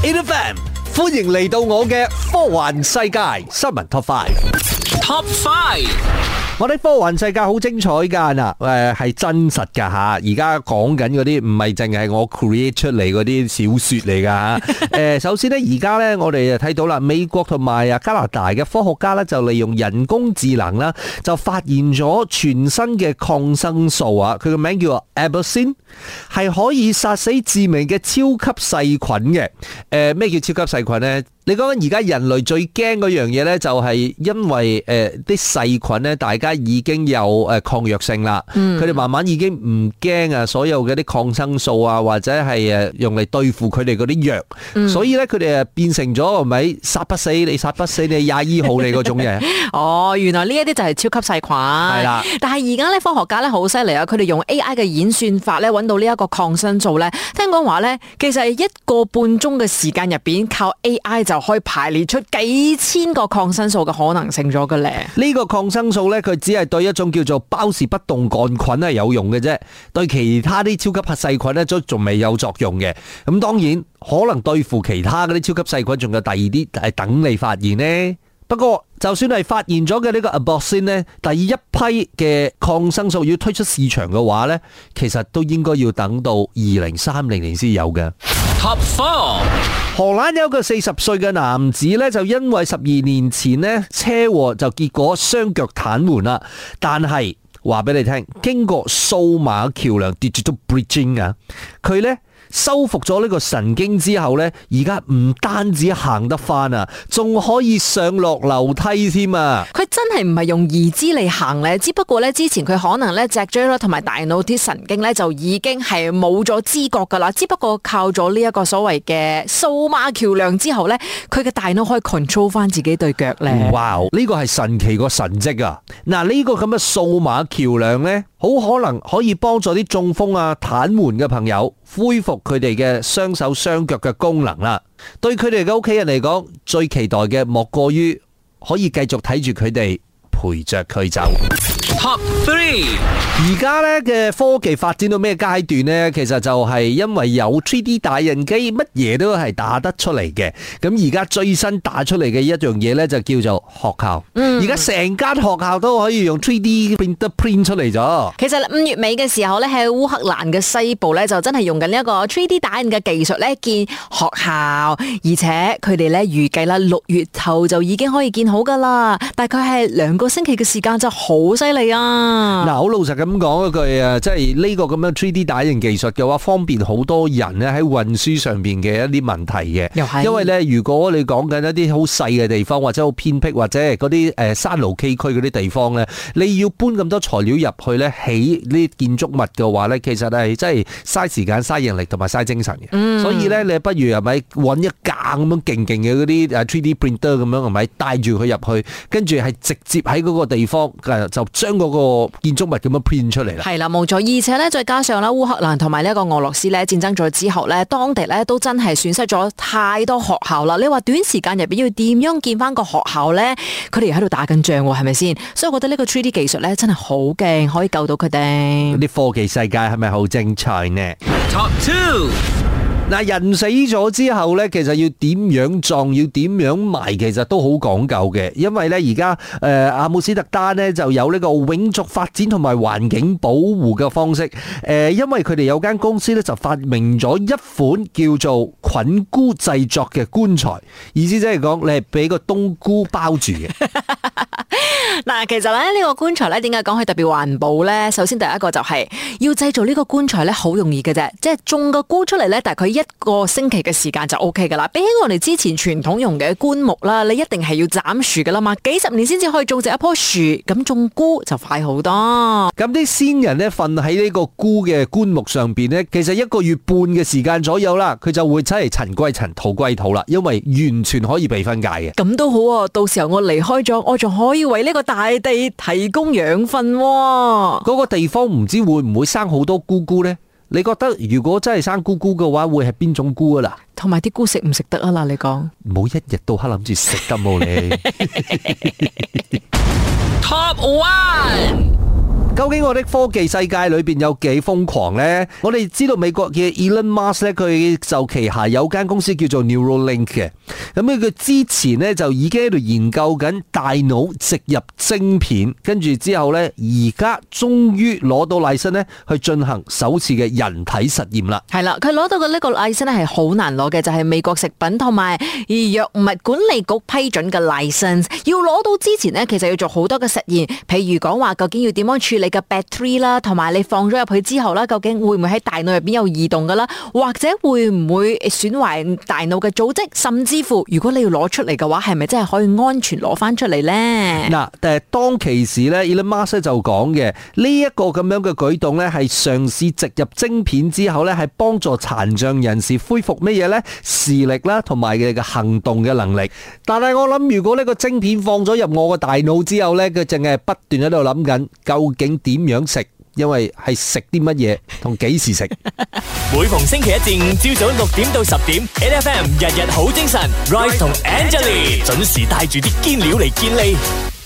8FM， 歡迎嚟到我嘅科幻世界新聞 Top 5。 Top 5， 我哋科幻世界好精彩噶嗱，係真實噶吓。而家講緊嗰啲唔係淨係我 create 出嚟嗰啲小說嚟噶吓。首先呢，而家呢，我哋就睇到啦，美國同埋加拿大嘅科學家呢，就利用人工智能啦，就發現咗全新嘅抗生素啊。佢個名叫做 Absinthe， 係可以殺死致命嘅超級細菌嘅。咩叫超級細菌呢？你講緊而家人類最驚嗰樣嘢呢，就係因為啲細菌呢，大家已經有抗藥性啦。佢哋慢慢已經唔驚啊，所有嘅啲抗生素啊，或者係用嚟對付佢哋嗰啲藥。所以呢，佢哋變成咗係咪殺不死你，殺不死你廿二號你嗰種嘢。 哦，原來呢一啲就係超級細菌。係啦，但係而家咧科學家咧好犀利啊！佢哋用 AI 嘅演算法咧揾到呢一個抗生素咧，聽講話咧，其實係1個半鐘嘅時間入邊，靠 AI 就可以排列出幾千個抗生素嘅可能性咗嘅咧。 呢個抗生素咧，佢只係對一種叫做包氏不動桿菌係有用嘅啫，對其他啲超級細菌咧都仲未有作用嘅。咁當然可能對付其他嗰啲超級細菌，仲有第二啲係等你發現呢。不過就算係發現咗嘅呢個 Absinthe 呢，第一批嘅抗生素要推出市場嘅話呢，其實都應該要等到2030年先有嘅。 Top 4， 荷蘭有一個40歲嘅男子呢，就因為12年前呢車禍就結果雙腳癱瘓啦，但係話俾你聽，經過數碼橋梁 Digital Bridging 啊，佢呢修復咗呢個神經之後呢，而家唔單止行得翻啊，仲可以上落樓梯添啊！ 佢真係唔係用義肢嚟行咧，只不過咧之前佢可能咧脊椎啦同埋大腦啲神經咧就已經係冇咗知覺噶啦，只不過靠咗呢一個所謂嘅數碼橋梁之後咧，佢嘅大腦可以 control 翻自己對腳咧。 哇！呢個係神奇個神蹟啊！嗱，呢個咁嘅數碼橋梁呢，好可能可以幫助啲中風啊、癱瘓嘅朋友恢復佢哋嘅雙手雙腳嘅功能啦。對佢哋嘅屋企人嚟講，最期待嘅莫過於可以繼續睇住佢哋陪着佢走。 Top 3， 而家咧嘅科技發展到咩階段呢？其實就係因為有 3D 打印機，乜嘢都係打得出嚟嘅。咁而家最新打出嚟嘅一樣嘢呢，就叫做學校。而家成間學校都可以用 3D printer print 出嚟咗。 其實5月尾嘅時候咧，喺烏克蘭嘅西部咧，就真係用緊呢一個 3D 打印嘅技術咧建學校，而且佢哋咧預計啦6月頭就已經可以建好噶啦，大概係2個星期嘅時間就好犀利啊！ 嗱，好老實咁講一句啊，即係呢個咁樣 3D 打印技術嘅話，方便好多人咧喺運輸上邊嘅一啲問題嘅。 又係， 因為咧，如果你講緊一啲好細嘅地方，或者好偏僻，或者係嗰啲山路崎嶇嗰啲地方咧，你要搬咁多材料入去咧，起呢啲建築物嘅話咧，其實係真係嘥時間、嘥人力同埋嘥精神嘅。所以咧，你不如係咪揾一架咁樣勁勁嘅嗰啲 3D printer 咁樣係咪帶住佢入去，跟住係直接喺嗰個地方就將嗰個建築物咁樣 print 出嚟啦。 係啦，冇錯。而且咧，再加上咧，烏克蘭同埋呢一個俄羅斯咧戰爭咗之後咧，當地咧都真係損失咗太多學校啦。你話短時間入邊要點樣建翻個學校咧？佢哋喺度打緊仗喎，係咪先？所以我覺得呢個 3D 技術咧真係好勁，可以救到佢哋。 啲科技世界係咪好精彩呢？ Top 2。 嗱，人死咗之後咧，其實要點樣葬，要點樣埋，其實都好講究嘅。因為咧，而家阿姆斯特丹咧就有呢個永續發展同埋環境保護嘅方式。因為佢哋有間公司咧就發明咗一款叫做菌菇製作嘅棺材，意思即係講你係俾個冬菇包住嘅。 嗱，其實咧呢個棺材咧，點解講佢特別環保咧？首先第一個就係要製造呢個棺材咧，好容易嘅啫，即係種個菇出嚟咧，大概1個星期嘅時間就 OK 噶啦。比起我哋之前傳統用嘅棺木啦，你一定係要斬樹噶啦嘛，幾十年先至可以種植一棵樹，咁種菇就快好多。 咁啲先人咧瞓喺呢個菇嘅棺木上邊咧，其實1個月半嘅時間左右啦，佢就會真係塵歸塵，土歸土啦，因為完全可以被分解嘅。 咁都好啊，到時候我離開咗，我仲可以為呢個大地提供養分喎。 嗰個地方唔知會唔會生好多菇菇呢？你覺得如果真係生菇菇嘅話，會係邊種菇啊啦？ 同埋啲菇食唔食得啊啦？你講唔好一日到黑諗住食得冇你。 Top 1。 究竟我的科技世界裏邊有幾瘋狂呢？我哋知道美國嘅 Elon Musk 咧，佢就旗下有間公司叫做 Neuralink 嘅。咁佢之前呢，就已經喺度研究緊大腦植入晶片，跟住之後呢，而家終於攞到license呢去進行首次嘅人體實驗啦。 係啦，佢攞到嘅呢個license咧係好難攞嘅，就係美國食品同埋藥物管理局批准嘅 license。要攞到之前呢，其實要做好多嘅實驗，譬如講話究竟要點樣處理嘅 battery 啦，同埋你放咗入去之後啦，究竟會唔會喺大腦入邊有異動噶啦，或者會唔會損壞大腦嘅組織，甚至乎如果你要攞出嚟嘅話，係咪真係可以安全攞翻出嚟呢？ 嗱，但係當其時咧 Elon Musk 就講嘅呢一個咁樣嘅舉動咧，係嘗試植入晶片之後咧，係幫助殘障人士恢復乜嘢咧？視力啦，同埋佢嘅行動嘅能力。但係我諗，如果呢個晶片放咗入我個大腦之後咧，佢淨係不斷喺度諗緊究竟點樣食，因為係食啲乜嘢同幾時食。 每逢星期一至五朝早6點到10點 ，8FM 日日好精神 ，Rise 同 Angelie 準時帶住啲堅料嚟健利。